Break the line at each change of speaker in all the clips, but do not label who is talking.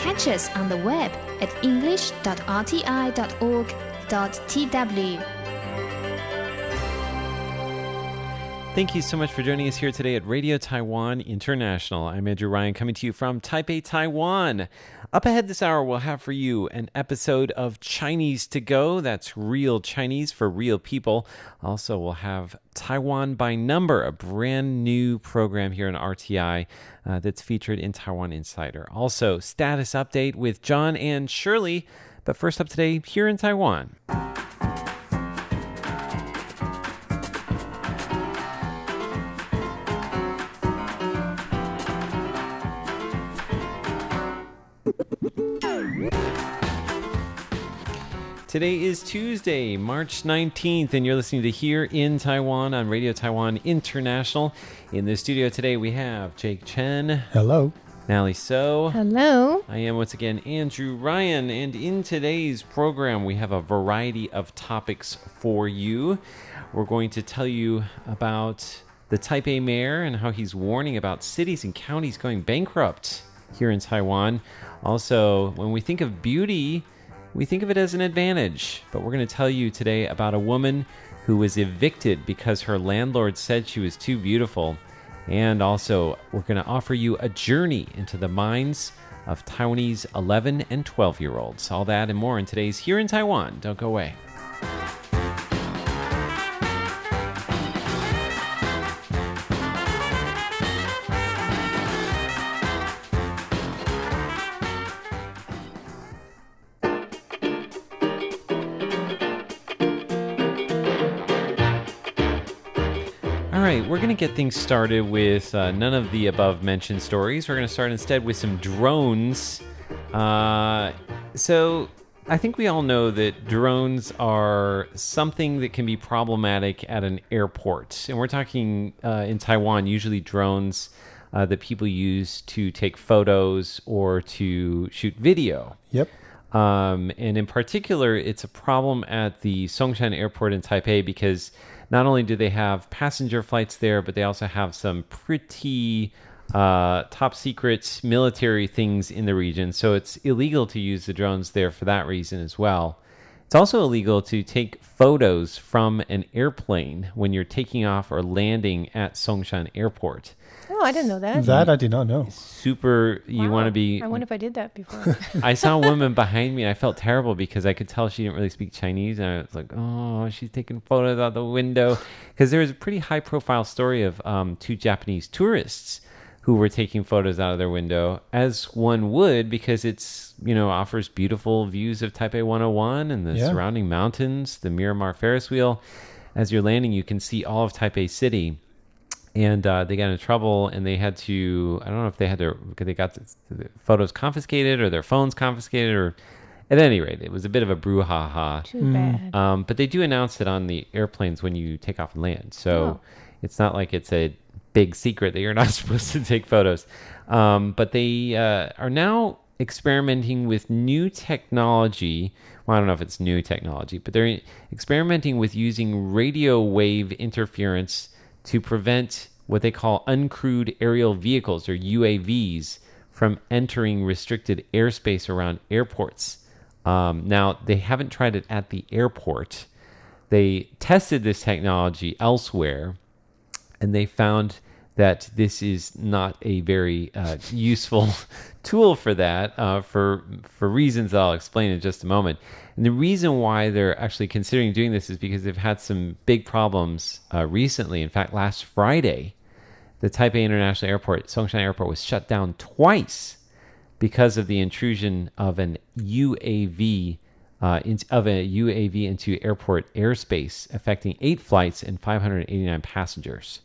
Catch us on the web at english.rti.org.tw.
Thank you so much for joining us here today at Radio Taiwan International. I'm Andrew Ryan coming to you from Taipei, Taiwan. Up ahead this hour, we'll have for you an episode of Chinese to Go. That's real Chinese for real people. Also, we'll have Taiwan by Number, a brand new program here on RTI that's featured in Taiwan Insider. Also, status update with John and Shirley. But first up today, here in Taiwan. Today is Tuesday, March 19th, and you're listening to Here in Taiwan on Radio Taiwan International. In the studio today, we have Jake Chen.
Hello.
Nally So.
Hello.
I am once again Andrew Ryan, and in today's program, we have a variety of topics for you. We're going to tell you about the Taipei mayor and how he's warning about cities and counties going bankrupt here in Taiwan. Also, when we think of beauty, we think of it as an advantage, but we're going to tell you today about a woman who was evicted because her landlord said she was too beautiful. And also, we're going to offer you a journey into the minds of Taiwanese 11 and 12-year-olds. All that and more in today's Here in Taiwan. Don't go away. All right, we're going to get things started with none of the above-mentioned stories. We're going to start instead with some drones. So I think we all know that drones are something that can be problematic at an airport. And we're talking in Taiwan, usually drones that people use to take photos or to shoot video.
Yep.
And in particular, it's a problem at the Songshan Airport in Taipei because not only do they have passenger flights there, but they also have some pretty top secret military things in the region. So it's illegal to use the drones there for that reason as well. It's also illegal to take photos from an airplane when you're taking off or landing at Songshan Airport.
Oh, I didn't know that.
That I did not know.
Super, you want to be...
I wonder if I did that before.
I saw a woman behind me, and I felt terrible because I could tell she didn't really speak Chinese, and I was like, oh, she's taking photos out the window. Because there was a pretty high-profile story of two Japanese tourists who were taking photos out of their window, as one would, because it's, offers beautiful views of Taipei 101 and the surrounding mountains, the Miramar Ferris wheel. As you're landing, you can see all of Taipei City. And they got into trouble, and they had to, I don't know if they got the photos confiscated or their phones confiscated, or at any rate, it was a bit of a brouhaha.
Too bad.
But they do announce it on the airplanes when you take off and land. So it's not like it's a big secret that you're not supposed to take photos. But they are now experimenting with new technology. Well, I don't know if it's new technology, but they're experimenting with using radio wave interference to prevent what they call uncrewed aerial vehicles, or UAVs, from entering restricted airspace around airports. Now, they haven't tried it at the airport. They tested this technology elsewhere, and they found that this is not a very useful tool for that, for reasons that I'll explain in just a moment. And the reason why they're actually considering doing this is because they've had some big problems recently. In fact, last Friday, the Taipei International Airport, Songshan Airport, was shut down twice because of the intrusion of an UAV into airport airspace, affecting 8 flights and 589 passengers.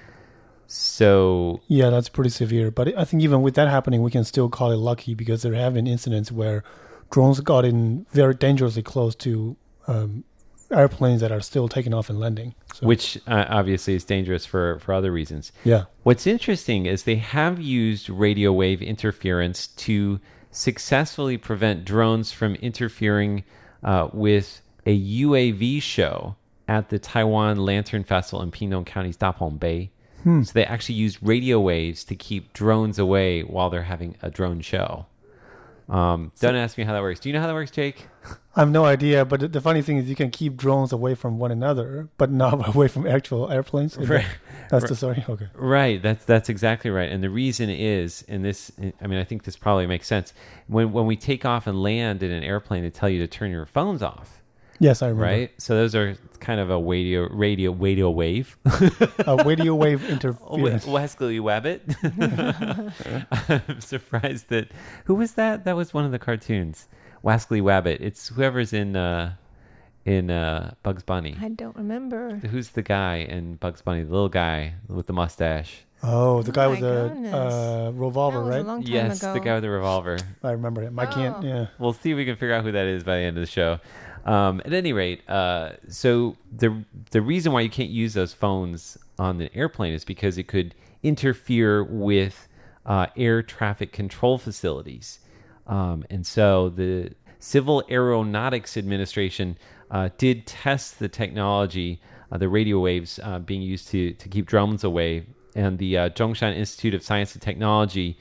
So
yeah, that's pretty severe. But I think even with that happening, we can still call it lucky because there have been incidents where drones got in very dangerously close to airplanes that are still taking off and landing. So,
which obviously is dangerous for other reasons.
Yeah.
What's interesting is they have used radio wave interference to successfully prevent drones from interfering with a UAV show at the Taiwan Lantern Festival in Pingtung County's Dapong Bay. So they actually use radio waves to keep drones away while they're having a drone show. Don't ask me how that works. Do you know how that works, Jake?
I have no idea, but the funny thing is you can keep drones away from one another, but not away from actual airplanes.
Right.
That's the story? Okay.
Right. That's exactly right. And the reason is, I think this probably makes sense. When we take off and land in an airplane, they tell you to turn your phones off.
Yes, I remember.
Right? So those are kind of a radio wave.
A radio wave interference.
Wesley Wabbit. I'm surprised that... Who was that? That was one of the cartoons. Wesley Wabbit. It's whoever's in Bugs Bunny.
I don't remember.
Who's the guy in Bugs Bunny? The little guy with the mustache.
Oh, the guy with
my
the revolver,
That was
right?
a long time
Yes,
ago.
the guy with the revolver.
I remember him. I can't, yeah.
We'll see if we can figure out who that is by the end of the show. At any rate, so the reason why you can't use those phones on the airplane is because it could interfere with air traffic control facilities. And so the Civil Aeronautics Administration did test the technology, the radio waves being used to keep drones away. And the Zhongshan Institute of Science and Technology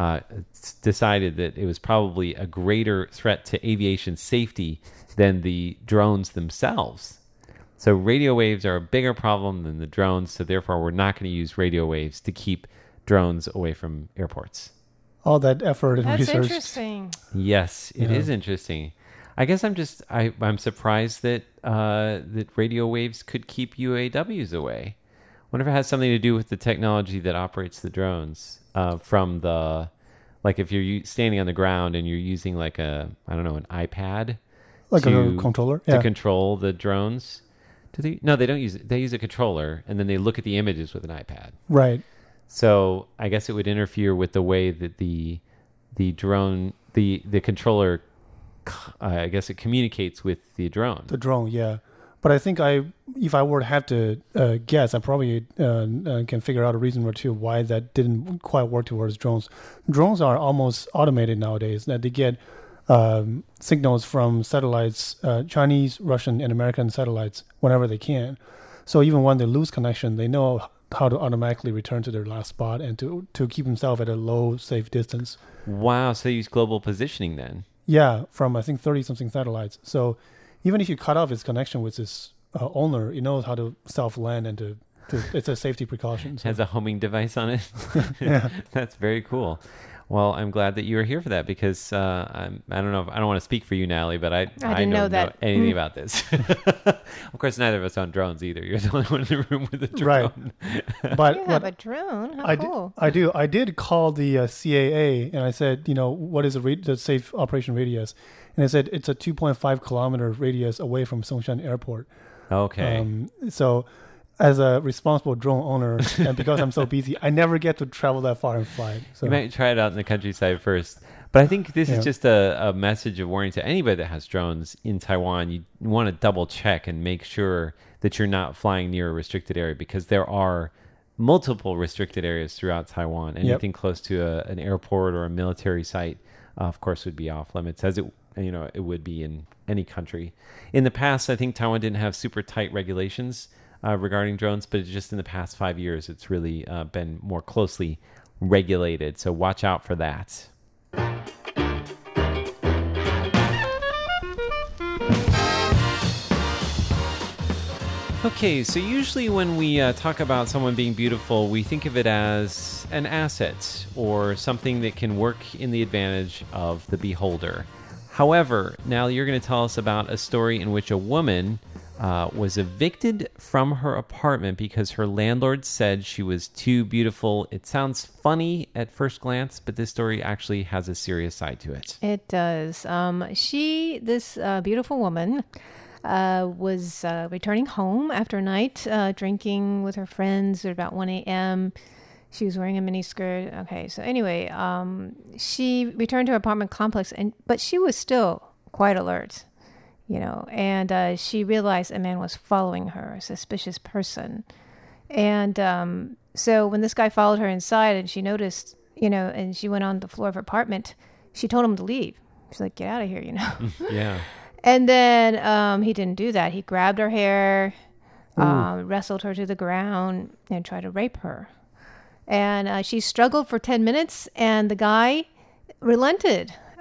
decided that it was probably a greater threat to aviation safety than the drones themselves. So radio waves are a bigger problem than the drones, so therefore we're not going to use radio waves to keep drones away from airports.
All that effort and
That's
research.
interesting.
Yes, it is interesting. I guess I'm surprised that that radio waves could keep UAWs away. I wonder if it has something to do with the technology that operates the drones from the, like if you're standing on the ground and you're using like an iPad.
Like a controller?
To control the drones. No, they don't use it. They use a controller, and then they look at the images with an iPad.
Right.
So I guess it would interfere with the way that the drone, the controller, I guess it communicates with the drone.
The drone, yeah. But I think if I were to have to guess, I probably can figure out a reason or two why that didn't quite work towards drones. Drones are almost automated nowadays. That they get signals from satellites, Chinese, Russian, and American satellites whenever they can. So even when they lose connection, they know how to automatically return to their last spot and to keep themselves at a low, safe distance.
Wow, so they use global positioning then?
Yeah, from I think 30-something satellites. So even if you cut off its connection with its owner, it knows how to self-land and to it's a safety precaution. So.
Has a homing device on it?
Yeah.
That's very cool. Well, I'm glad that you were here for that because I don't want to speak for you, Natalie, but I
didn't know
don't know
that.
anything about this. Of course, neither of us own drones either. You're the only one in the room with a drone.
Right. But
You have a drone? How cool.
I do. I did call the CAA and I said, what is the safe operation radius? And I said it's a 2.5 kilometer radius away from Songshan Airport.
Okay.
So as a responsible drone owner, and because I'm so busy, I never get to travel that far and fly. So.
You might try it out in the countryside first. But I think this is just a message of warning to anybody that has drones in Taiwan. You want to double check and make sure that you're not flying near a restricted area because there are multiple restricted areas throughout Taiwan. Anything close to an airport or a military site, of course, would be off limits, as it would be in any country. In the past, I think Taiwan didn't have super tight regulations regarding drones, but just in the past 5 years, it's really been more closely regulated. So watch out for that. Okay, so usually when we talk about someone being beautiful, we think of it as an asset or something that can work in the advantage of the beholder. However, now you're going to tell us about a story in which a woman was evicted from her apartment because her landlord said she was too beautiful. It sounds funny at first glance, but this story actually has a serious side to it.
It does. This beautiful woman was returning home after a night drinking with her friends at about 1 a.m. She was wearing a miniskirt. Okay, so anyway, she returned to her apartment complex, but she was still quite alert, and she realized a man was following her, a suspicious person. And so when this guy followed her inside and she noticed, and she went on the floor of her apartment, she told him to leave. She's like, get out of here,
Yeah.
And then he didn't do that. He grabbed her hair, wrestled her to the ground, and tried to rape her. And she struggled for 10 minutes, and the guy relented.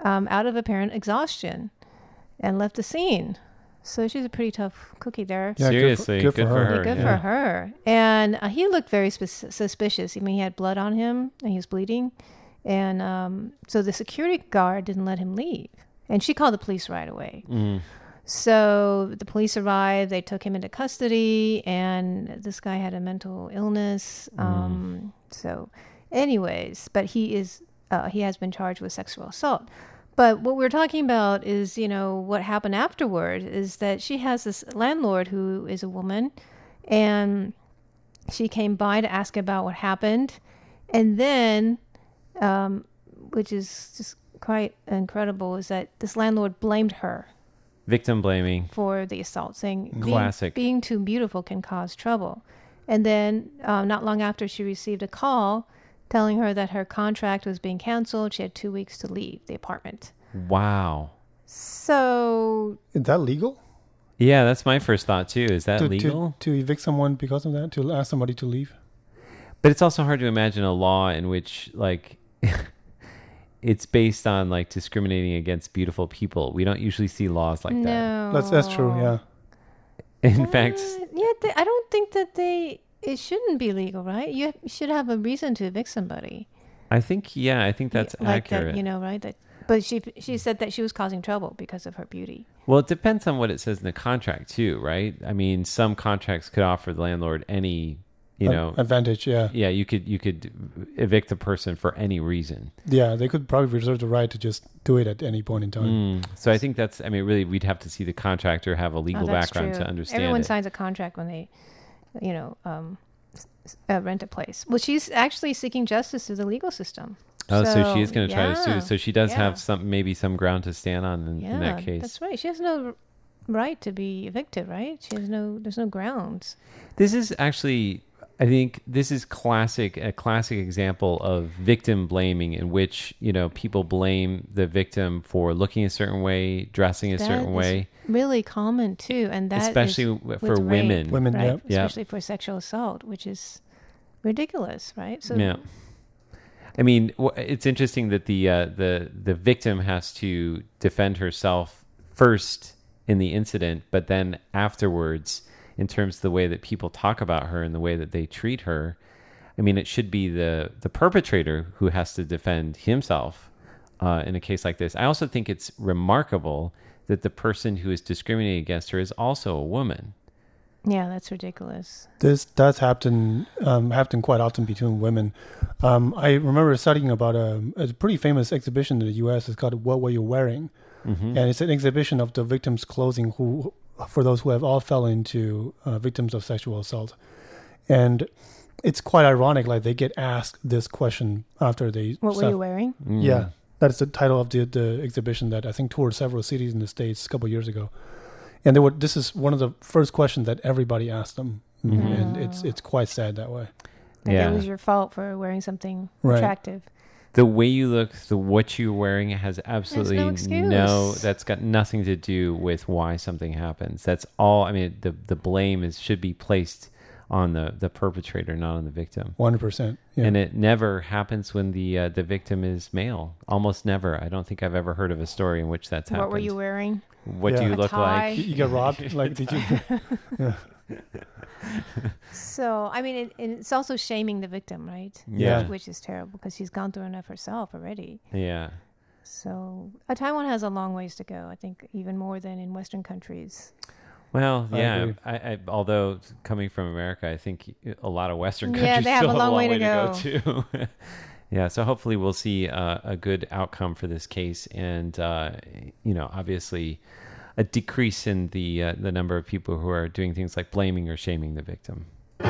out of apparent exhaustion and left the scene. So she's a pretty tough cookie there.
Yeah,
Seriously,
good for her.
Good for her. And he looked very suspicious. I mean, he had blood on him and he was bleeding. And so the security guard didn't let him leave. And she called the police right away. So the police arrived. They took him into custody. And this guy had a mental illness. So anyways, but he has been charged with sexual assault. But what we're talking about is, what happened afterward is that she has this landlord who is a woman, and she came by to ask about what happened. And then, which is just quite incredible, is that this landlord blamed her.
Victim blaming.
For the assault, saying
Classic.
Being too beautiful can cause trouble. And then not long after, she received a call telling her that her contract was being canceled. She had 2 weeks to leave the apartment.
Wow.
So...
Is that legal?
Yeah, that's my first thought too. Is that legal?
To evict someone because of that? To ask somebody to leave?
But it's also hard to imagine a law in which, like, it's based on, like, discriminating against beautiful people. We don't usually see laws like that.
No.
That's true, yeah.
In fact...
I don't think that it shouldn't be legal, right? You should have a reason to evict somebody.
I think that's accurate.
That, right? But she said that she was causing trouble because of her beauty.
Well, it depends on what it says in the contract too, right? I mean, some contracts could offer the landlord any,
advantage, yeah.
Yeah, you could evict a person for any reason.
Yeah, they could probably reserve the right to just do it at any point in time.
So I think really we'd have to see the contractor have a legal background to understand
Everyone
it.
signs a contract when they, rent a place. Well, she's actually seeking justice through the legal system.
Oh, so she is going to try to sue. So she does have some ground to stand on in that case.
That's right. She has no right to be evicted, right? There's no grounds.
This is actually, I think this is a classic example of victim blaming, in which, people blame the victim for looking a certain way, dressing a certain way.
Really common too. And that
especially for women.
Women,
right?
yeah.
Especially for sexual assault, which is ridiculous, right? So
yeah. I mean, it's interesting that the victim has to defend herself first in the incident, but then afterwards, in terms of the way that people talk about her and the way that they treat her, I mean, it should be the perpetrator who has to defend himself in a case like this. I also think it's remarkable that the person who is discriminating against her is also a woman.
Yeah, that's ridiculous.
This does happen quite often between women. I remember studying about a pretty famous exhibition in the U.S. It's called "What Were You Wearing?" And it's an exhibition of the victims' clothing for those who have all fallen into victims of sexual assault. And it's quite ironic, like they get asked this question after they...
What were you wearing?
Yeah, that's the title of the exhibition that I think toured several cities in the States a couple of years ago. And this is one of the first questions that everybody asked them. And it's quite sad that way.
Like it was your fault for wearing something attractive.
The way you look, what you're wearing has absolutely that's got nothing to do with why something happens. That's all. I mean, the blame should be placed on the perpetrator, not on the victim.
100%. Yeah.
And it never happens when the victim is male. Almost never. I don't think I've ever heard of a story in which that's happened.
What were you wearing?
What do you look like?
You got robbed? Like, did you? Yeah.
So, I mean, it's also shaming the victim, right?
Yeah.
Which is terrible because she's gone through enough herself already.
Yeah.
So, Taiwan has a long ways to go, I think, even more than in Western countries.
Well,
yeah.
I although coming from America, I think a lot of Western countries
they have
still
a long way to
go too. Yeah, so hopefully we'll see a good outcome for this case, and obviously a decrease in the number of people who are doing things like blaming or shaming the victim.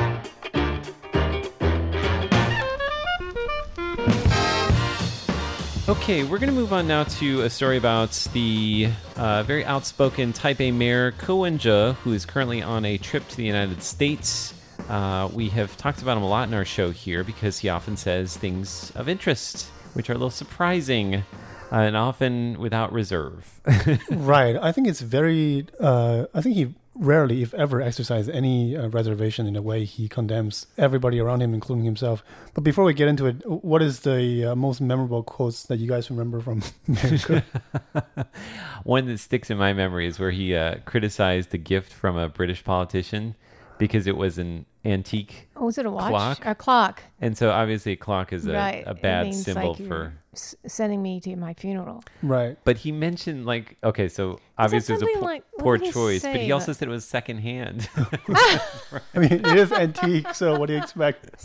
Okay, we're going to move on now to a story about the very outspoken Taipei Mayor Ko Wen-je, who is currently on a trip to the United States. We have talked about him a lot in our show here because he often says things of interest, which are a little surprising and often without reserve.
Right. I think it's very... I think he rarely, if ever, exercise any reservation in a way he condemns everybody around him, including himself. But before we get into it, what is the most memorable quotes that you guys remember from America?
One that sticks in my memory is where he criticized a gift from a British politician because it was an antique
Oh, was it a watch?
clock.
A clock.
And so obviously a clock is
Right.
a
It
bad
means
symbol
like you're
for...
sending me to my funeral.
Right.
But he mentioned like, okay, so obviously it was a
something like- what
poor
did he
choice, but
say
he also
about-
said it was secondhand.
I mean, it is antique, so what do you expect?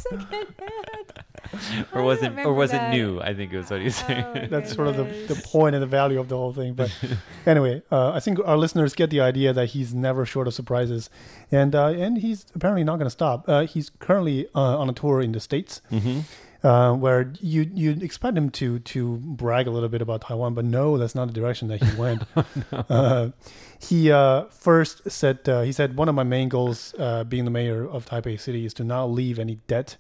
or wasn't
remember that.
new, I think it was what he was saying.
Oh,
That's sort of the
goodness.
point and the value of the whole thing. But anyway, I think our listeners get the idea that he's never short of surprises, and he's apparently not going to stop. He's currently on a tour in the States, where you'd expect him to brag a little bit about Taiwan, but no, that's not the direction that he went. He first said he said one of my main goals, being the mayor of Taipei City, is to not leave any debt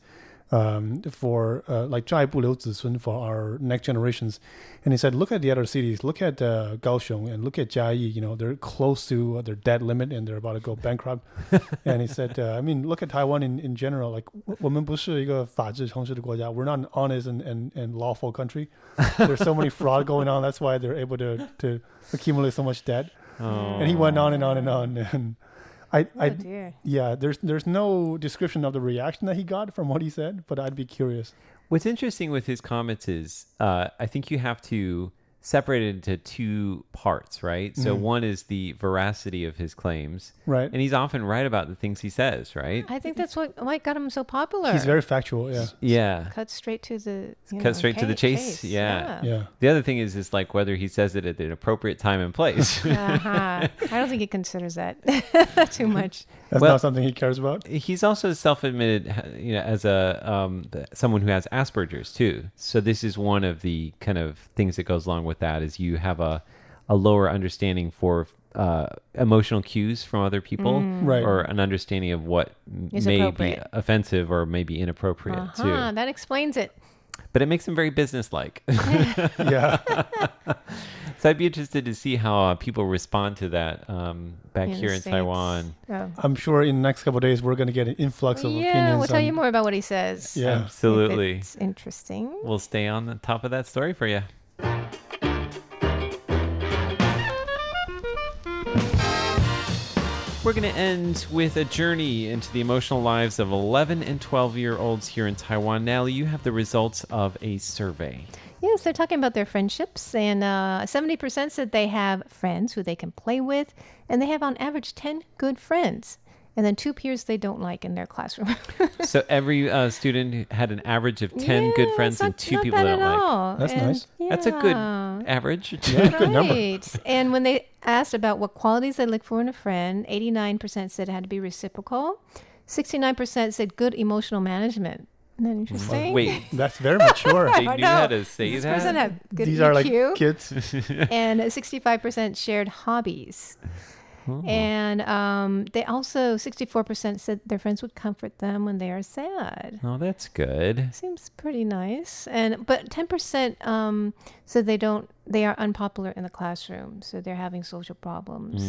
for like 债不留子孙 for our next generations. And he said, look at the other cities, look at Kaohsiung and look at Jiayi, you know, they're close to their debt limit and they're about to go bankrupt. And he said, I mean, look at Taiwan in general, like 我们不是一个法治城市的国家. We're not an honest and lawful country. There's so many fraud going on. That's why they're able to accumulate so much debt. And he went on and on and on. And
Oh, dear.
yeah, there's no description of the reaction that he got from what he said, but I'd be curious.
What's interesting with his comments is I think you have to separate it into two parts, right? So one is the veracity of his claims.
Right.
And he's often right about the things he says, right?
I think that's what got him so popular.
He's very factual, yeah.
Yeah.
Cut straight to the
Cut straight to the chase. Yeah.
Yeah.
The other thing is like whether he says it at an appropriate time and place.
I don't think he considers that too much.
That's
Well-
not something he cares about.
He's also self-admitted, you know, as a someone who has Asperger's too. So this is one of the kind of things that goes along with that is you have a lower understanding for emotional cues from other people,
Right.
or an understanding of what
Is
may
appropriate.
be offensive or may be inappropriate too.
That explains it.
But it makes him very businesslike.
Yeah.
So I'd be interested to see how people respond to that back
In
here
the
in
States.
Taiwan.
Oh.
I'm sure in the next couple of days we're going to get an influx of
Yeah,
opinions.
we'll tell
on-
you more about what he says.
Yeah.
Absolutely.
It's interesting.
We'll stay on the top of that story for you. We're going to end with a journey into the emotional lives of 11 and 12-year-olds here in Taiwan. Natalie, you have the results of a survey.
Yes, they're talking about their friendships, and 70% said they have friends who they can play with, and they have on average 10 good friends, and then 2 peers they don't like in their classroom.
So every student had an average of 10 good
Yeah,
friends
it's
and
not-
2
not
people
bad
they don't
at
like.
all.
That's
And-
nice.
That's a good
yeah.
average.
Yeah, good number.
Right. And when they asked about what qualities they look for in a friend, 89% said it had to be reciprocal. 69% said good emotional management. Isn't that interesting?
Wait,
That's very mature.
they
I
knew
know.
how to say
This person
that?
had good
These
EQ.
are like kids.
And 65% shared hobbies. And they also, 64% said their friends would comfort them when they are sad.
Oh, that's good.
Seems pretty nice. But 10% said they are unpopular in the classroom, so they're having social problems.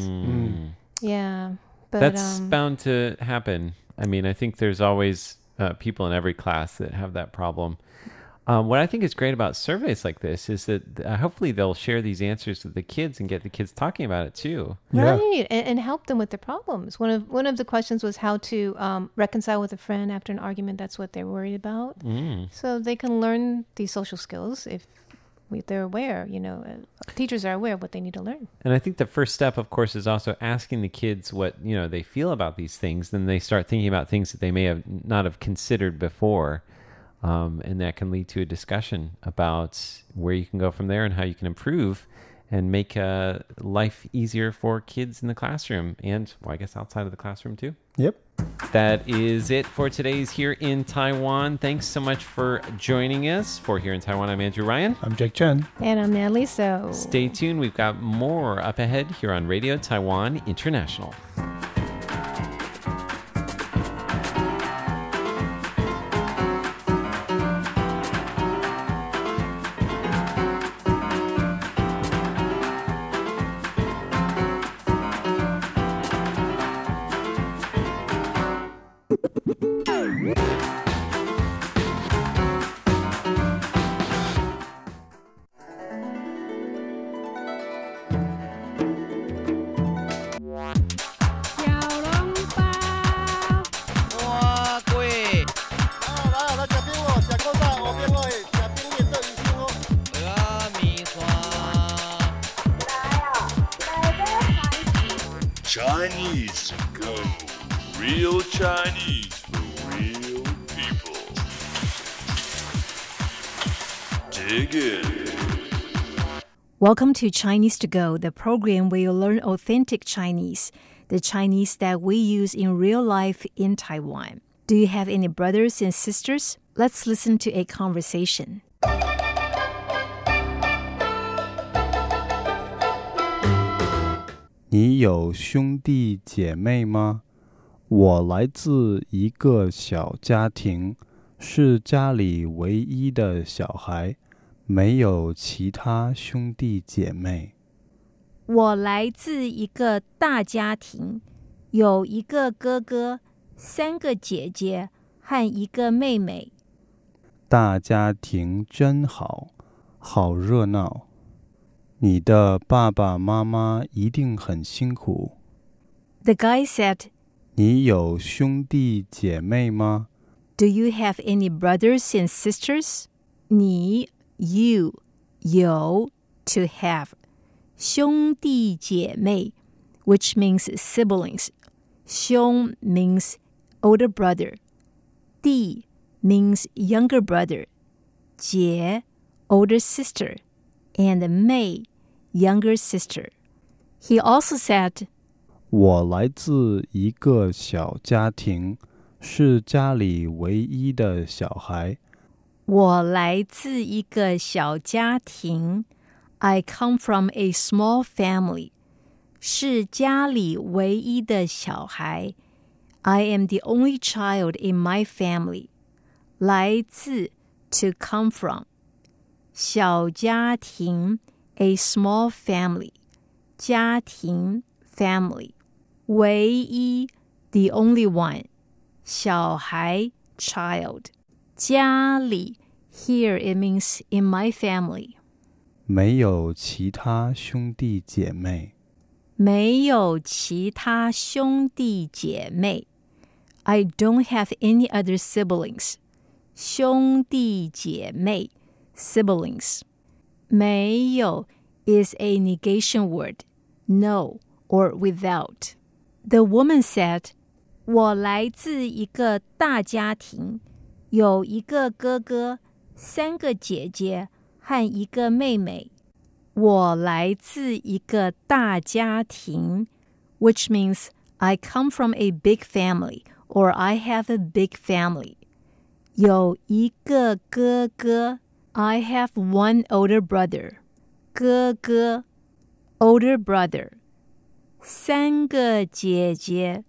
Yeah. But
That's bound to happen. I mean, I think there's always people in every class that have that problem. What I think is great about surveys like this is that hopefully they'll share these answers with the kids and get the kids talking about it too.
Yeah.
right, and help them with their problems. One of the questions was how to reconcile with a friend after an argument. That's what they're worried about. So they can learn these social skills if they're aware. Teachers are aware of what they need to learn.
And I think the first step, of course, is also asking the kids what they feel about these things. Then they start thinking about things that they may have not have considered before. And that can lead to a discussion about where you can go from there and how you can improve and make life easier for kids in the classroom and, well, I guess outside of the classroom too.
Yep.
That is it for today's Here in Taiwan. Thanks so much for joining us. For Here in Taiwan, I'm Andrew Ryan.
I'm Jake Chen.
And I'm Natalie, so
Stay tuned. We've got more up ahead here on Radio Taiwan International.
Chinese to go. Real Chinese for real people. Dig in.
Welcome to Chinese to Go, the program where you learn authentic Chinese, the Chinese that we use in real life in Taiwan. Do you have any brothers and sisters? Let's listen to a conversation.
你有兄弟姐妹吗？我来自一个小家庭，是家里唯一的小孩，没有其他兄弟姐妹。
我来自一个大家庭，有一个哥哥，3个姐姐和一个妹妹。
大家庭真好，好热闹。你的爸爸妈妈一定很辛苦。
The guy said,
你有兄弟姐妹吗？
Do you have any brothers and sisters? 你 you 有 to have 兄弟姐妹 which means siblings. 兄 means older brother. 弟 means younger brother. 姐 older sister. And 妹 younger sister. He also said,
我来自一个小家庭，是家里唯一的小孩。
我来自一个小家庭。I come from a small family. 是家里唯一的小孩。I am the only child in my family. 来自 to come from. 小家庭 a small family. 家庭 family. 唯一 the only one. 小孩 child. 家里 here it means in my family.
没有其他兄弟姐妹。
没有其他兄弟姐妹。I don't have any other siblings. 兄弟姐妹 siblings. 没有 is a negation word. No or without. The woman said, 我来自一个大家庭，有一个哥哥，3个姐姐和一个妹妹。我来自一个大家庭 which means I come from a big family or I have a big family. 有一个哥哥 I have one older brother. 哥哥 older brother. 3个姐姐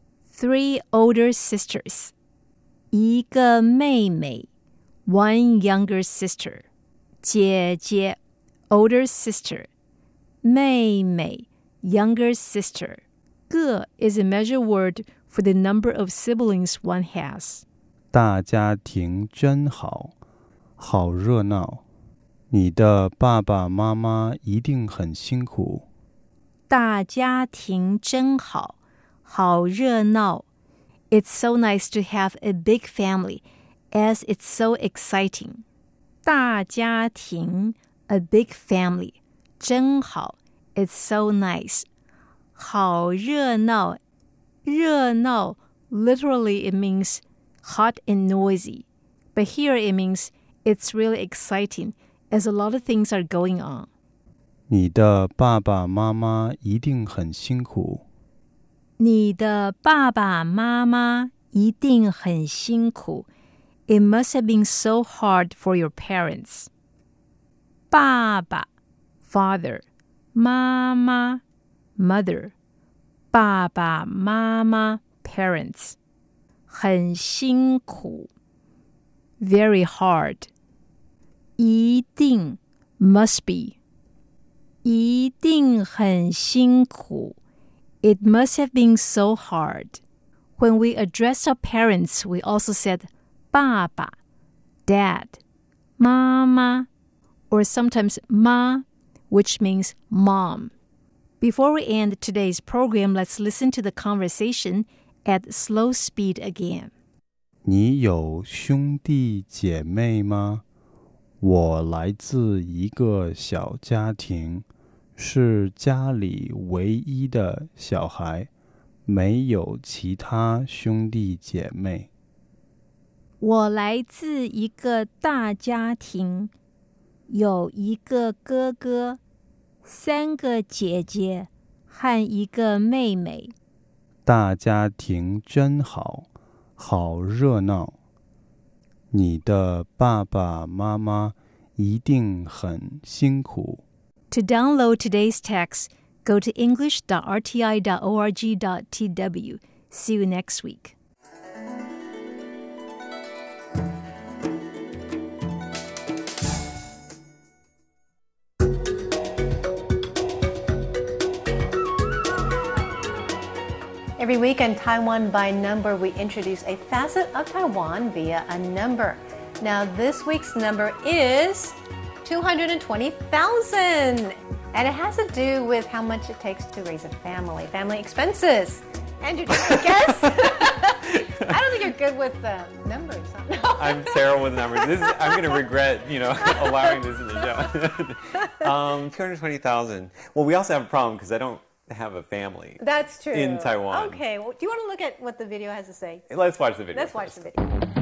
3 older sisters. 一个妹妹 one younger sister. 姐姐 older sister. 妹妹 younger sister. 个 is a measure word for the number of siblings one has.
大家庭真好，好热闹。你的爸爸妈妈一定很辛苦。
大家庭真好，好热闹。It's so nice to have a big family, as it's so exciting. 大家庭 a big family. 真好 it's so nice. 好热闹热闹 literally it means hot and noisy. But here it means it's really exciting as a lot of things are going on.
你的爸爸妈妈一定很辛苦。
你的爸爸妈妈一定很辛苦。It must have been so hard for your parents. 爸爸 father. 妈妈 mother. 爸爸妈妈 parents. 很辛苦 very hard. 一定 must be. 一定很辛苦 It must have been so hard. When we addressed our parents, we also said 爸爸 dad, 妈妈 or sometimes ma, which means mom. Before we end today's program, let's listen to the conversation at slow speed again.
你有兄弟姐妹吗？我来自一个小家庭，是家里唯一的小孩， 没有其他兄弟姐妹。
我来自一个大家庭，有一个哥哥，3个姐姐和一个妹妹。
大家庭真好，好热闹。你的爸爸妈妈一定很辛苦。
To download today's text, go to english.rti.org.tw. See you next week.
Every week on Taiwan by Number, we introduce a facet of Taiwan via a number. Now, this week's number is 220,000. And it has to do with how much it takes to raise a family, family expenses. Andrew, did you guess? I don't think you're good with numbers. Huh?
I'm terrible with numbers. I'm going to regret, allowing this in the show. 220,000. Well, we also have a problem because I don't have a family.
That's true.
In Taiwan.
Okay. Well, do you want to look at what the video has to say?
Let's watch the video.
Let's watch the video.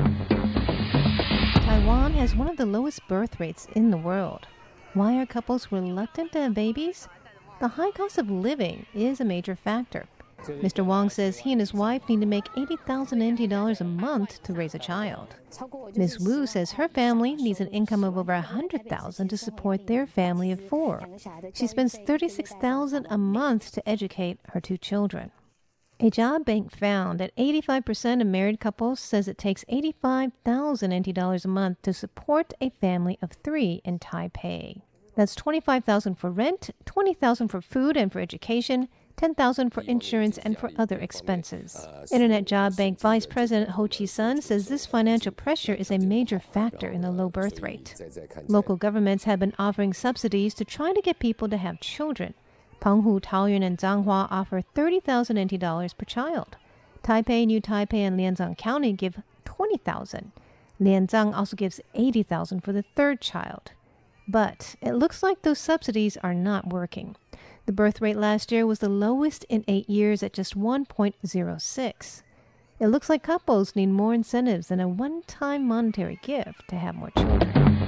Taiwan has one of the lowest birth rates in the world. Why are couples reluctant to have babies? The high cost of living is a major factor. Mr. Wong says he and his wife need to make 80,000 NT dollars a month to raise a child. Ms. Wu says her family needs an income of over 100,000 to support their family of 4. She spends 36,000 a month to educate her 2 children. A job bank found that 85% of married couples says it takes 85,000 NT dollars a month to support a family of 3 in Taipei. That's 25,000 for rent, 20,000 for food and for education, 10,000 for insurance and for other expenses. Internet Job Bank Vice President Ho Chi-sun says this financial pressure is a major factor in the low birth rate. Local governments have been offering subsidies to try to get people to have children. Penghu, Taoyuan, and Zhanghua offer 30,000 NT dollars per child. Taipei, New Taipei, and Lianzhang County give 20,000. Lianzhang also gives 80,000 for the 3rd child. But it looks like those subsidies are not working. The birth rate last year was the lowest in 8 years at just 1.06. It looks like couples need more incentives than a one-time monetary gift to have more children.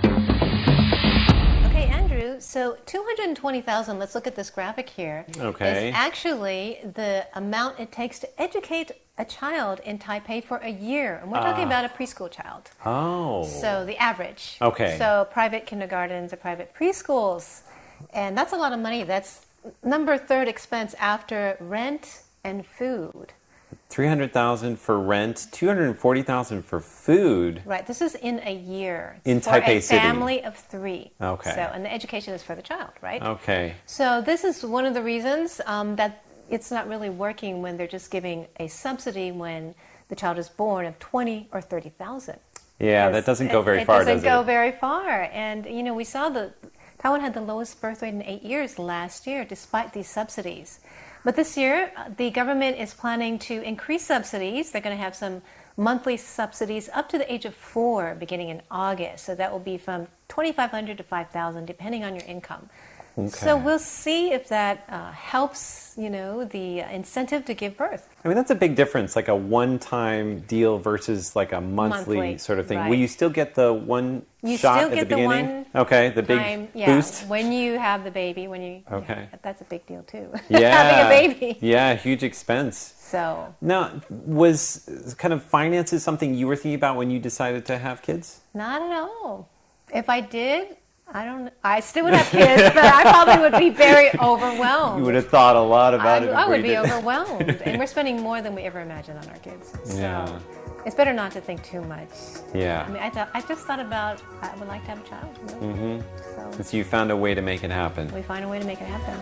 Okay, Andrew, so 220,000, let's look at this graphic here.
Okay.
Is actually the amount it takes to educate a child in Taipei for a year. And we're talking about a preschool child.
Oh.
So the average.
Okay.
So private kindergartens or private preschools. And that's a lot of money. That's number 3rd expense after rent and food.
300,000 for rent, 240,000 for food.
Right. This is in a year.
In
for
Taipei
a
City.
Family of 3.
Okay.
So, and the education is for the child, right?
Okay.
So this is one of the reasons that it's not really working when they're just giving a subsidy when the child is born of 20 or 30,000.
Yeah, that doesn't go very far, does it?
It doesn't go very far. And, we saw Taiwan had the lowest birth rate in 8 years last year, despite these subsidies. But this year, the government is planning to increase subsidies. They're going to have some monthly subsidies up to the age of 4 beginning in August. So that will be from 2,500 to 5,000, depending on your income.
Okay.
So we'll see if that helps, the incentive to give birth.
I mean, that's a big difference, like a one-time deal versus like a monthly sort of thing.
Right.
Will you still get the one shot at the beginning?
Okay,
the big boost?
When you have the baby,
Okay.
Yeah, that's a big deal too.
Yeah.
Having a baby.
Yeah, huge expense.
So.
Now, was kind of finances something you were thinking about when you decided to have kids?
Not at all. If I did, I still would have kids, but I probably would be very overwhelmed.
You would have thought a lot about it.
I would be overwhelmed. And we're spending more than we ever imagined on our kids. So
yeah.
It's better not to think too much.
Yeah.
I mean, I just thought about, I would like to have a child.
Mm-hmm. So you found a way to make it happen.
We find a way to make it happen.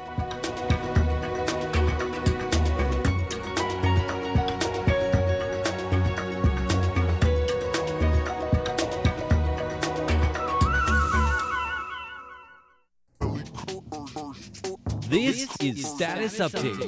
This is Status Update.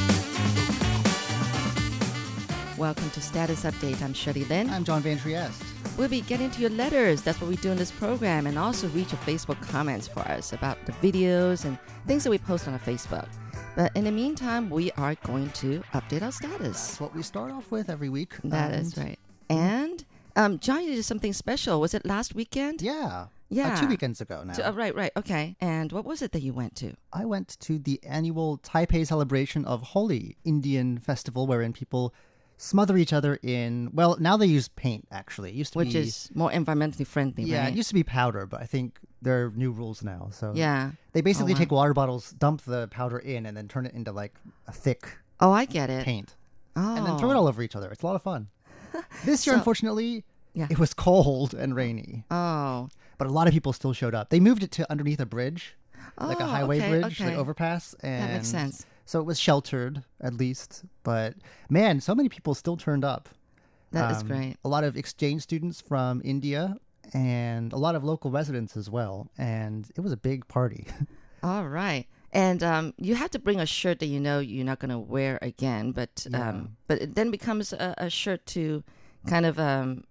Welcome to Status Update. I'm Shirley Lin.
I'm John Van Trieste.
we'll be getting to your letters. That's what we do in this program. And also read your Facebook comments for us about the videos and things that we post on our Facebook. But in the meantime, we are going to update our status.
That's what we start off with every week.
That is right. And John, you did something special. Was it last weekend?
Yeah.
Yeah.
2 weekends ago now.
Right. Okay. And what was it that you went to?
I went to the annual Taipei celebration of Holi, Indian festival, wherein people smother each other in, well, now they use paint, actually. It used to
Which
be,
is more environmentally friendly,
yeah,
right?
it used to be powder, but I think there are new rules now. So
Yeah.
they basically
wow.
take water bottles, dump the powder in, and then turn it into like a thick
Oh, I get it.
paint.
Oh.
And then throw it all over each other. It's a lot of fun. This year,
So-
unfortunately,
Yeah.
it was cold and rainy.
Oh.
But a lot of people still showed up. They moved it to underneath a bridge, like a
Oh,
highway
okay,
bridge,
okay.
like overpass. And
That makes sense.
So it was sheltered, at least. But man, so many people still turned up.
That is great.
A lot of exchange students from India and a lot of local residents as well. And it was a big party.
All right. And you have to bring a shirt that you know you're not going to wear again, but it then becomes a shirt to kind of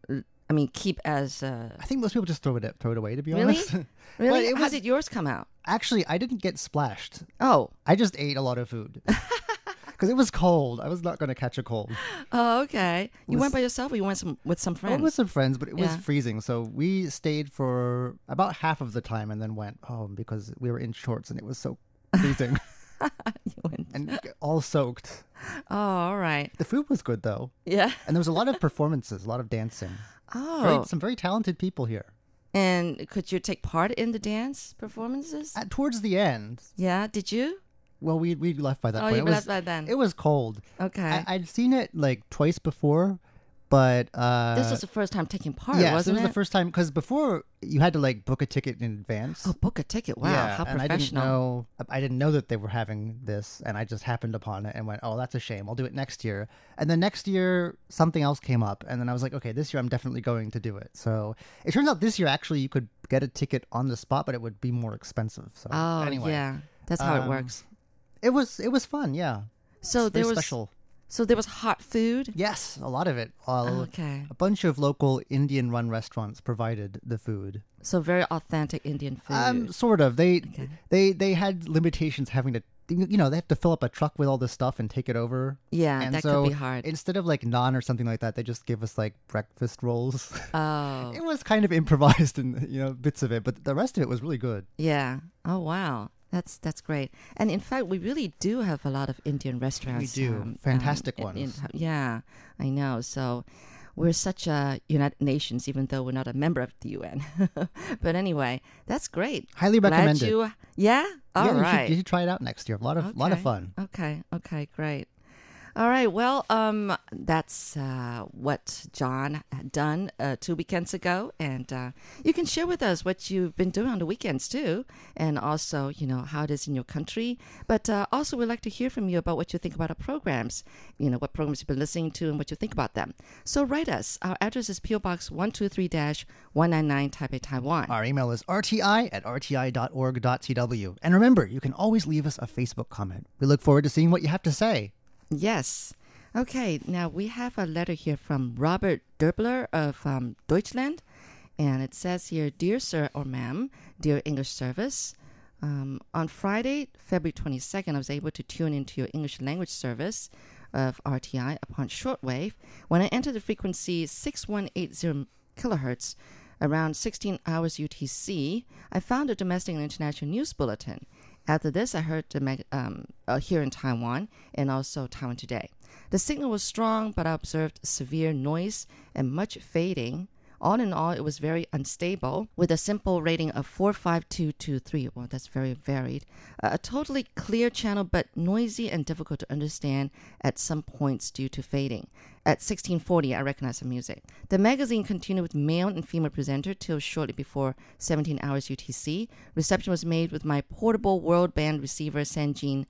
keep as
I think most people just throw it away, to be
Really?
honest. But
really.
it
How
was-
did yours come out?
Actually, I didn't get splashed.
Oh,
I just ate a lot of food. Because it was cold. I was not going to catch a cold.
oh, okay. You
Was-
went by yourself, or you went with some
I
friends?
went with some friends, but it was
Yeah.
freezing. So we stayed for about half of the time and then went home because we were in shorts and it was so freezing
You went-
and all soaked.
Oh, all right.
The food was good though.
Yeah.
And there was a lot of performances, a lot of dancing.
Oh,
Some very talented people here.
and could you take part in the dance performances?
Towards the end,
Yeah. Did you?
well, we left by that
Oh,
point.
you
It was-
left by then.
It was cold.
Okay.
I'd seen it like twice before, but
This was the first time taking part,
yes,
wasn't
it was the first time because before you had to like book a ticket in advance.
Oh, book a ticket. Wow,
Yeah,
how
and
professional.
I didn't know that they were having this, and I just happened upon it and went, "Oh, that's a shame. I'll do it next year." And then next year, something else came up, and then I was like, "Okay, this year I'm definitely going to do it." So it turns out this year actually you could get a ticket on the spot, but it would be more expensive. So
Oh,
anyway,
yeah. That's how it works.
It was fun. Yeah.
So
It's very
there was
special.
So there was hot food.
Yes, a lot of it.
Okay.
A bunch of local Indian-run restaurants provided the food.
So very authentic Indian food.
Sort of. They had limitations having to, they have to fill up a truck with all this stuff and take it over.
Yeah,
and
that
so
could be hard.
Instead of like naan or something like that, they just give us like breakfast rolls.
Oh,
It was kind of improvised and bits of it, but the rest of it was really good.
yeah. Oh, wow. That's great. And in fact, we really do have a lot of Indian restaurants.
We do. Fantastic ones.
Yeah, I know. So we're such a United Nations, even though we're not a member of the UN. But anyway, that's great.
Highly
Glad
recommend it.
you. Yeah. All
Yeah,
right.
you should try it out next year. A lot of fun.
Okay, great. All right, well, that's what John had done 2 weekends ago, and you can share with us what you've been doing on the weekends too, and also, how it is in your country. But also, we'd like to hear from you about what you think about our programs. What programs you've been listening to and what you think about them. So write us. Our address is PO Box 123-199 Taipei, Taiwan.
Our email is rti@rti.org.tw. And remember, you can always leave us a Facebook comment. We look forward to seeing what you have to say.
Yes. Okay, now we have a letter here from Robert Derbler of Deutschland. And it says here, Dear Sir or Ma'am, Dear English Service, on Friday, February 22nd, I was able to tune into your English language service of RTI upon shortwave. When I entered the frequency 6180 kilohertz, around 16 hours UTC, I found a domestic and international news bulletin. After this, I heard here in Taiwan and also Taiwan Today. The signal was strong, but I observed severe noise and much fading. All in all, it was very unstable, with a simple rating of 45223. Well, that's very varied. A totally clear channel, but noisy and difficult to understand at some points due to fading. At 1640, I recognized the music. The magazine continued with male and female presenter till shortly before 17 hours UTC. Reception was made with my portable world band receiver Sanjin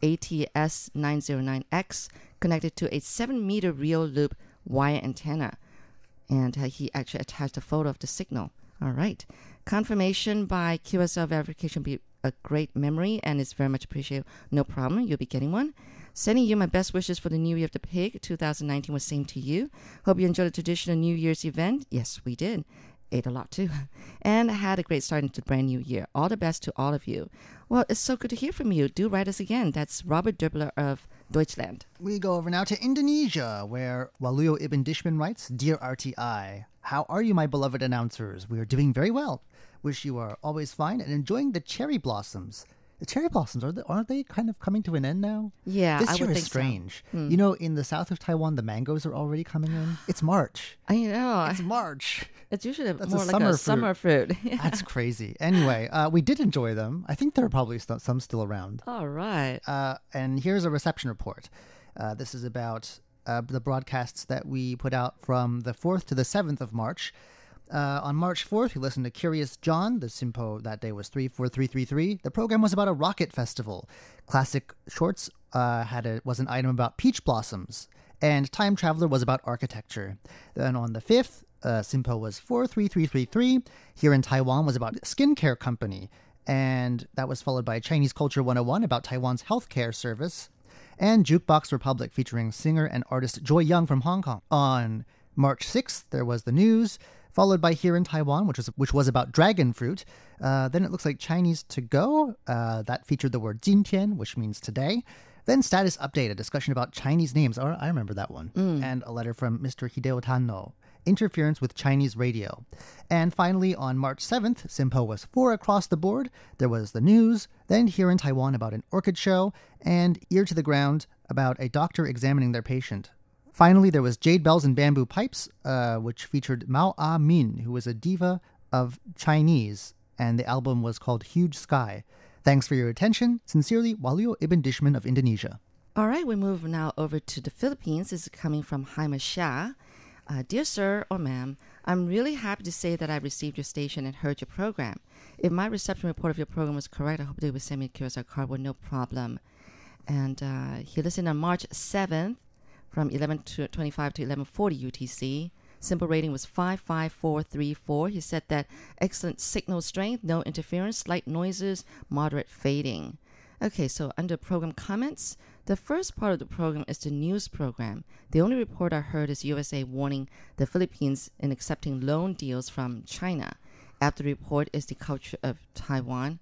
ATS909X connected to a 7-meter real loop wire antenna. And he actually attached a photo of the signal. All right. Confirmation by QSL verification will be a great memory and it's very much appreciated. No problem. You'll be getting one. Sending you my best wishes for the New Year of the Pig. 2019 was same to you. Hope you enjoyed the traditional New Year's event. Yes, we did. Ate a lot too. And had a great start into the brand new year. All the best to all of you. Well, it's so good to hear from you. Do write us again. That's Robert Derbler of Deutschland.
We go over now to Indonesia, where Waluyo Ibn Dishman writes, Dear RTI, how are you, my beloved announcers? We are doing very well. Wish you are always fine and enjoying the cherry blossoms. The cherry blossoms, aren't they kind of coming to an end now?
Yeah,
this
I
year
would
is
think
strange.
so.
You know, in the south of Taiwan, the mangoes are already coming in. It's March.
I know.
It's March.
It's usually
That's
more
a
like a summer fruit. Yeah.
That's crazy. Anyway, we did enjoy them. I think there are probably some still around.
All right.
And here's a reception report. This is about the broadcasts that we put out from the 4th to the 7th of March. On March 4th, we listened to Curious John. The SINPO that day was 34333. The program was about a rocket festival. Classic Shorts was an item about peach blossoms. And Time Traveler was about architecture. Then on the 5th, SINPO was 43333. Here in Taiwan was about skincare company. And that was followed by Chinese Culture 101 about Taiwan's healthcare service. And Jukebox Republic featuring singer and artist Joy Young from Hong Kong. On March 6th, there was the news, followed by Here in Taiwan, which was about dragon fruit. Then it looks like Chinese to go. That featured the word 今天, which means today. Then Status Update, a discussion about Chinese names. Oh, I remember that one. And a letter from Mr. Hideo Tanno, interference with Chinese radio. And finally, on March 7th, SINPO was 4 across the board. There was the news, then Here in Taiwan about an orchid show, and Ear to the Ground about a doctor examining their patient. Finally, there was Jade Bells and Bamboo Pipes, which featured Mao Ah Min, who was a diva of Chinese, and the album was called Huge Sky. Thanks for your attention. Sincerely, Waluyo Ibn Dishman of Indonesia.
All right, we move now over to the Philippines. This is coming from Haima Xia. Dear sir or ma'am, I'm really happy to say that I received your station and heard your program. If my reception report of your program was correct, I hope they would send me a QSR card with no problem. And he listened on March 7th from 11:25 to 11:40 UTC. Simple rating was 55434. He said that excellent signal strength, no interference, slight noises, moderate fading. Okay, so under program comments, the first part of the program is the news program. The only report I heard is USA warning the Philippines in accepting loan deals from China. After the report is the culture of Taiwan.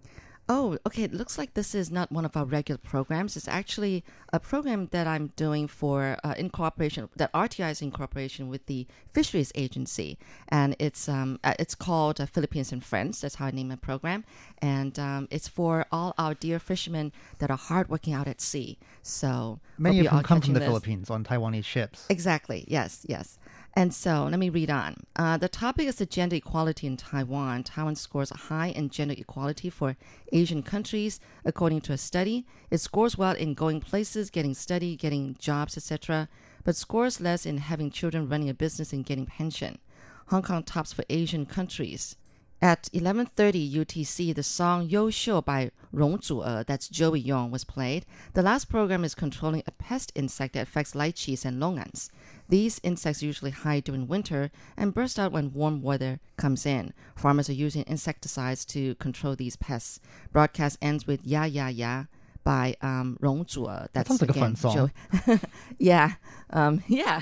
Oh, okay. It looks like this is not one of our regular programs. It's actually a program that I'm doing for in cooperation, that RTI is in cooperation with the Fisheries Agency, and it's called Philippines and Friends. That's how I name my program, and it's for all our dear fishermen that are hardworking out at sea. So
many of whom come from the Philippines on Taiwanese ships.
Exactly. Yes. Yes. And so let me read on. The topic is the gender equality in Taiwan. Taiwan scores high in gender equality for Asian countries, according to a study. It scores well in going places, getting study, getting jobs, etc., but scores less in having children, running a business, and getting pension. Hong Kong tops for Asian countries. At 11:30 UTC, the song 优秀 by Rong Zu'e, that's Joey Yong, was played. The last program is controlling a pest insect that affects lychees and longans. These insects usually hide during winter and burst out when warm weather comes in. Farmers are using insecticides to control these pests. Broadcast ends with Ya Ya Ya by Rong Zu'e.
That sounds like a fun song.
Yeah. Yeah.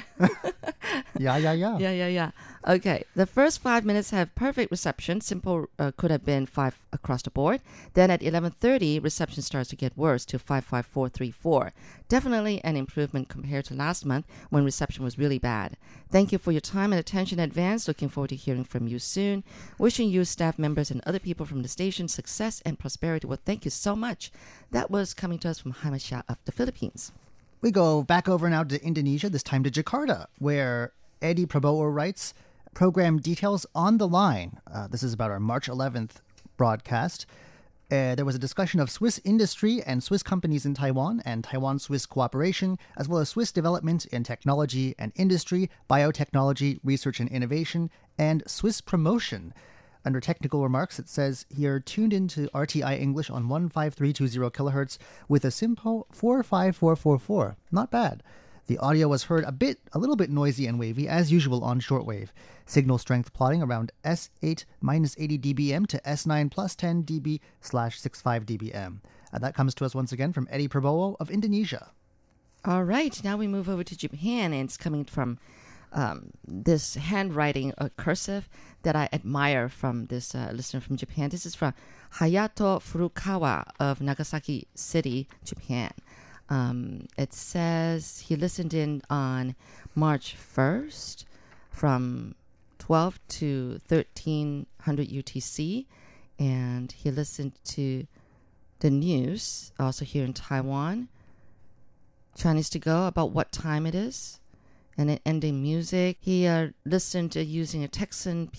Yeah, yeah, yeah.
Yeah, yeah, yeah. Okay. The first 5 minutes have perfect reception. Simple could have been 5 across the board. Then at 11:30, reception starts to get worse to 55434. Definitely an improvement compared to last month when reception was really bad. Thank you for your time and attention in advance. Looking forward to hearing from you soon. Wishing you, staff members, and other people from the station success and prosperity. Well, thank you so much. That was coming to us from Haima Xia of the Philippines.
We go back over now to Indonesia, this time to Jakarta, where Eddie Prabowo writes, program details on the line. This is about our March 11th broadcast. There was a discussion of Swiss industry and Swiss companies in Taiwan and Taiwan-Swiss cooperation, as well as Swiss development in technology and industry, biotechnology, research and innovation, and Swiss promotion. Under technical remarks, it says here, tuned into RTI English on 15320 kilohertz with a SINPO 45444. Not bad. The audio was heard a little bit noisy and wavy, as usual on shortwave. Signal strength plotting around S8 minus 80 dBm to S9 plus 10 dB/65 dBm. And that comes to us once again from Eddie Prabowo of Indonesia.
All right, now we move over to Japan, and it's coming from this handwriting, cursive, that I admire from this listener from Japan. This is from Hayato Furukawa of Nagasaki City, Japan. It says he listened in on March 1st from 12 to 1300 UTC, and he listened to the news, also here in Taiwan, Chinese to go, about what time it is, and then ending music. He listened to using a Texan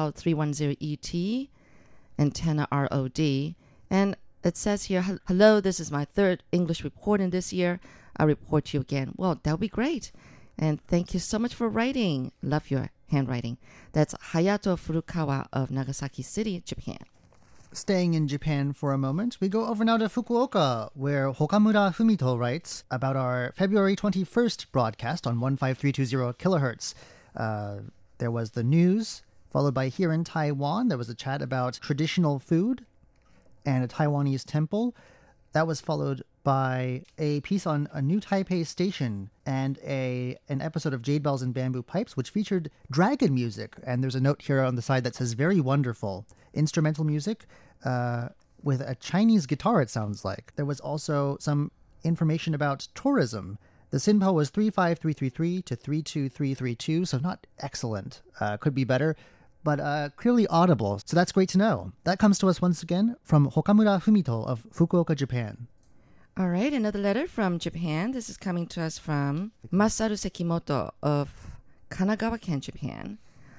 PL310ET, antenna ROD, and it says here, hello, this is my third English report in this year. I'll report to you again. Well, that would be great. And thank you so much for writing. Love your handwriting. That's Hayato Furukawa of Nagasaki City, Japan.
Staying in Japan for a moment, we go over now to Fukuoka, where Hokamura Fumito writes about our February 21st broadcast on 15320 kilohertz. There was the news, followed by here in Taiwan, there was a chat about traditional food and a Taiwanese temple. That was followed by a piece on a new Taipei station and an episode of Jade Bells and Bamboo Pipes, which featured dragon music. And there's a note here on the side that says, very wonderful. Instrumental music with a Chinese guitar, it sounds like. There was also some information about tourism. The SINPO was 35333 to 32332, so not excellent. Could be better, but clearly audible. So that's great to know. That comes to us once again from Hokamura Fumito of Fukuoka, Japan.
All right, another letter from Japan. This is coming to us from Masaru Sekimoto of Kanagawa-ken, Japan.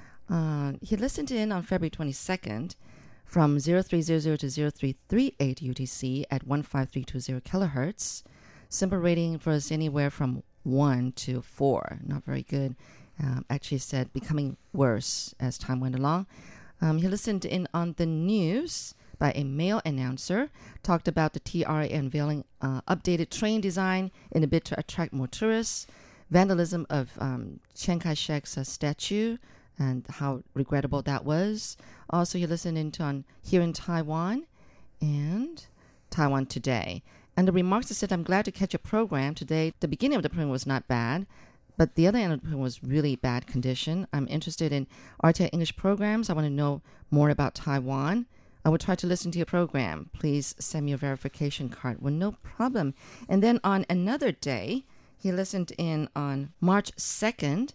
He listened in on February 22nd from 0300 to 0338 UTC at 15320 kilohertz. Simple rating was anywhere from 1 to 4. Not very good. Actually said becoming worse as time went along. He listened in on the news by a male announcer, talked about the TRA unveiling updated train design in a bid to attract more tourists, vandalism of Chiang Kai-shek's statue, and how regrettable that was. Also, you listened into on here in Taiwan and Taiwan Today. And the remarks that said, I'm glad to catch a program today. The beginning of the program was not bad, but the other end of the program was really bad condition. I'm interested in RTI English programs. I want to know more about Taiwan. I will try to listen to your program. Please send me a verification card. Well, no problem. And then on another day, he listened in on March 2nd,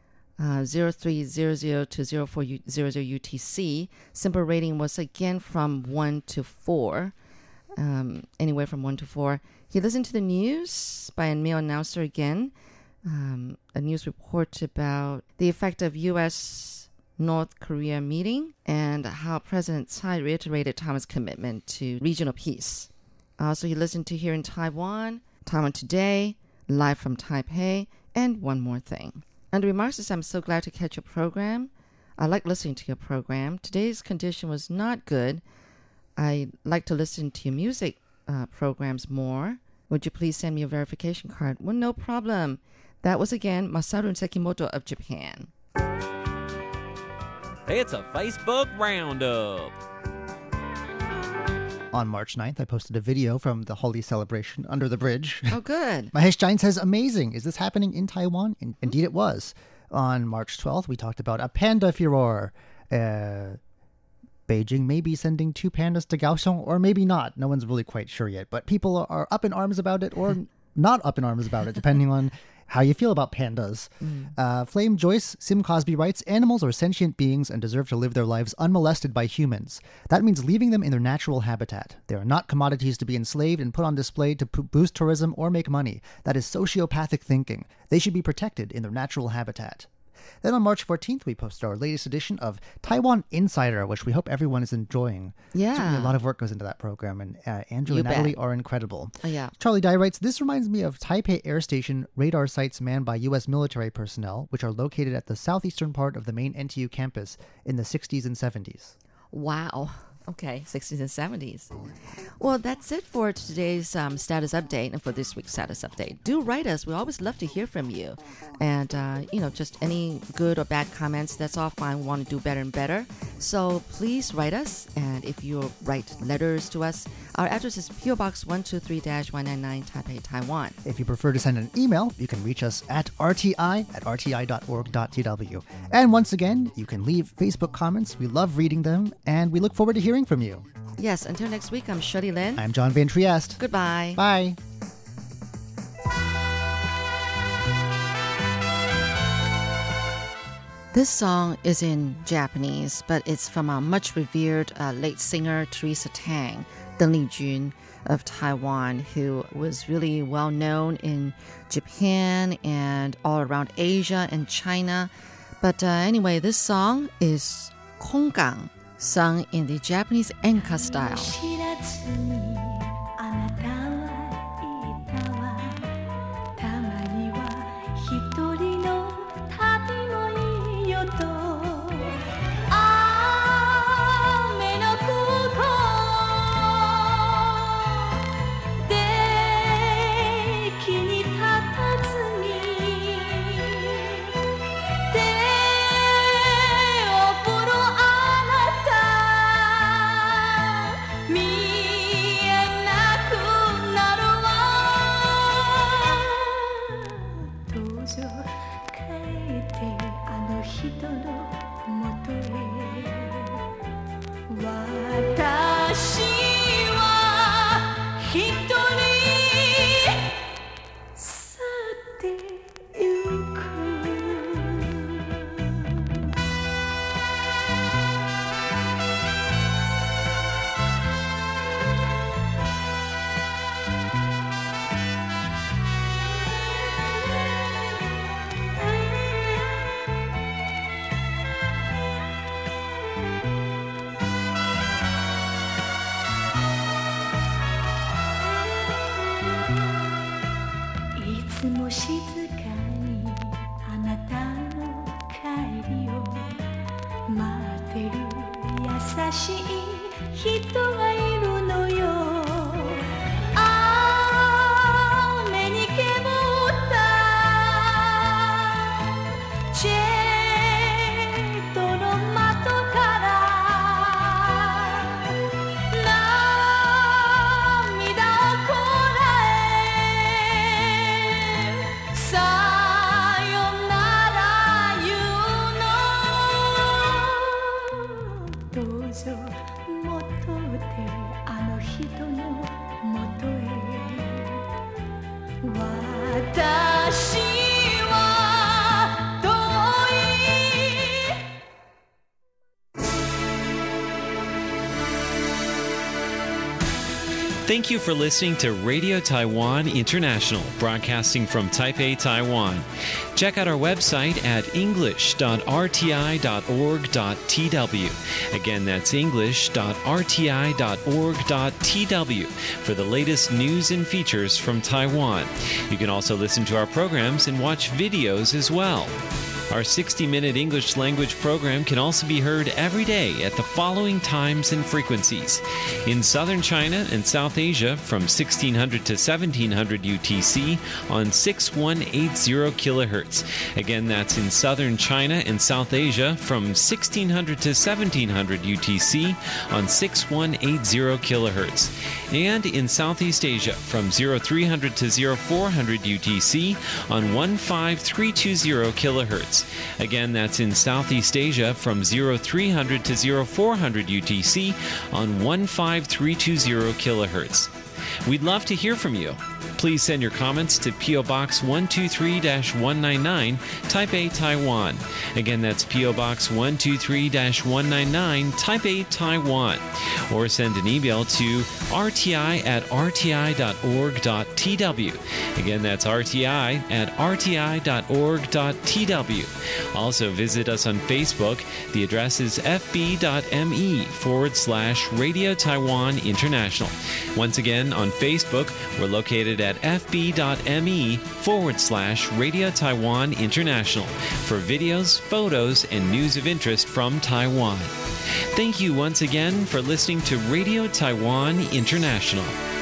0300 to 0400 UTC. Simple rating was again from 1 to 4, anywhere from 1 to 4. He listened to the news by a male announcer again, a news report about the effect of U.S. North Korea meeting and how President Tsai reiterated Taiwan's commitment to regional peace. Also, he listened to here in Taiwan, Taiwan Today, live from Taipei, and one more thing. And the remarks is, I'm so glad to catch your program. I like listening to your program. Today's condition was not good. I like to listen to your music programs more. Would you please send me a verification card? Well, no problem. That was again Masaru Sekimoto of Japan.
It's a Facebook Roundup.
On March 9th, I posted a video from the Holi celebration under the bridge.
Oh, good.
Mahesh Jain says, amazing. Is this happening in Taiwan? Indeed it was. On March 12th, we talked about a panda furor. Beijing may be sending 2 pandas to Kaohsiung, or maybe not. No one's really quite sure yet. But people are up in arms about it, or not up in arms about it, depending on how you feel about pandas. Flame Joyce, Sim Cosby writes, animals are sentient beings and deserve to live their lives unmolested by humans. That means leaving them in their natural habitat. They are not commodities to be enslaved and put on display to boost tourism or make money. That is sociopathic thinking. They should be protected in their natural habitat. Then on March 14th, we posted our latest edition of Taiwan Insider, which we hope everyone is enjoying.
Yeah.
Certainly a lot of work goes into that program, and Andrew and Natalie are incredible.
Oh, yeah.
Charlie Dye writes, this reminds me of Taipei Air Station radar sites manned by U.S. military personnel, which are located at the southeastern part of the main NTU campus in the 60s and 70s.
Wow. Okay, 60s and 70s. Well, that's it for today's status update and for this week's status update. Do write us. We always love to hear from you. And, just any good or bad comments, that's all fine. We want to do better and better. So please write us. And if you write letters to us, our address is PO Box 123-199 Taipei, Taiwan.
If you prefer to send an email, you can reach us at rti@rti.org.tw. And once again, you can leave Facebook comments. We love reading them, and we look forward to hearing from you.
Yes, until next week, I'm Shirley Lin.
I'm John Van Trieste.
Goodbye.
Bye.
This song is in Japanese, but it's from a much revered late singer, Teresa Tang, Deng Lijun of Taiwan, who was really well known in Japan and all around Asia and China. But anyway, this song is Konggang, sung in the Japanese enka style.
Thank you for listening to Radio Taiwan International, broadcasting from Taipei, Taiwan. Check out our website at english.rti.org.tw. Again, that's english.rti.org.tw for the latest news and features from Taiwan. You can also listen to our programs and watch videos as well. Our 60-minute English language program can also be heard every day at the following times and frequencies. In southern China and South Asia from 1600 to 1700 UTC on 6180 kHz. Again, that's in southern China and South Asia from 1600 to 1700 UTC on 6180 kHz. And in Southeast Asia from 0300 to 0400 UTC on 15320 kHz. Again, that's in Southeast Asia from 0300 to 0400 UTC on 15320 kHz. We'd love to hear from you. Please send your comments to P.O. Box 123-199, Taipei, Taiwan. Again, that's P.O. Box 123-199, Taipei, Taiwan. Or send an email to rti@rti.org.tw. Again, that's rti@rti.org.tw. Also, visit us on Facebook. The address is fb.me/Radio Taiwan International. Once again, on Facebook, we're located located at fb.me/Radio Taiwan International for videos, photos, and news of interest from Taiwan. Thank you once again for listening to Radio Taiwan International.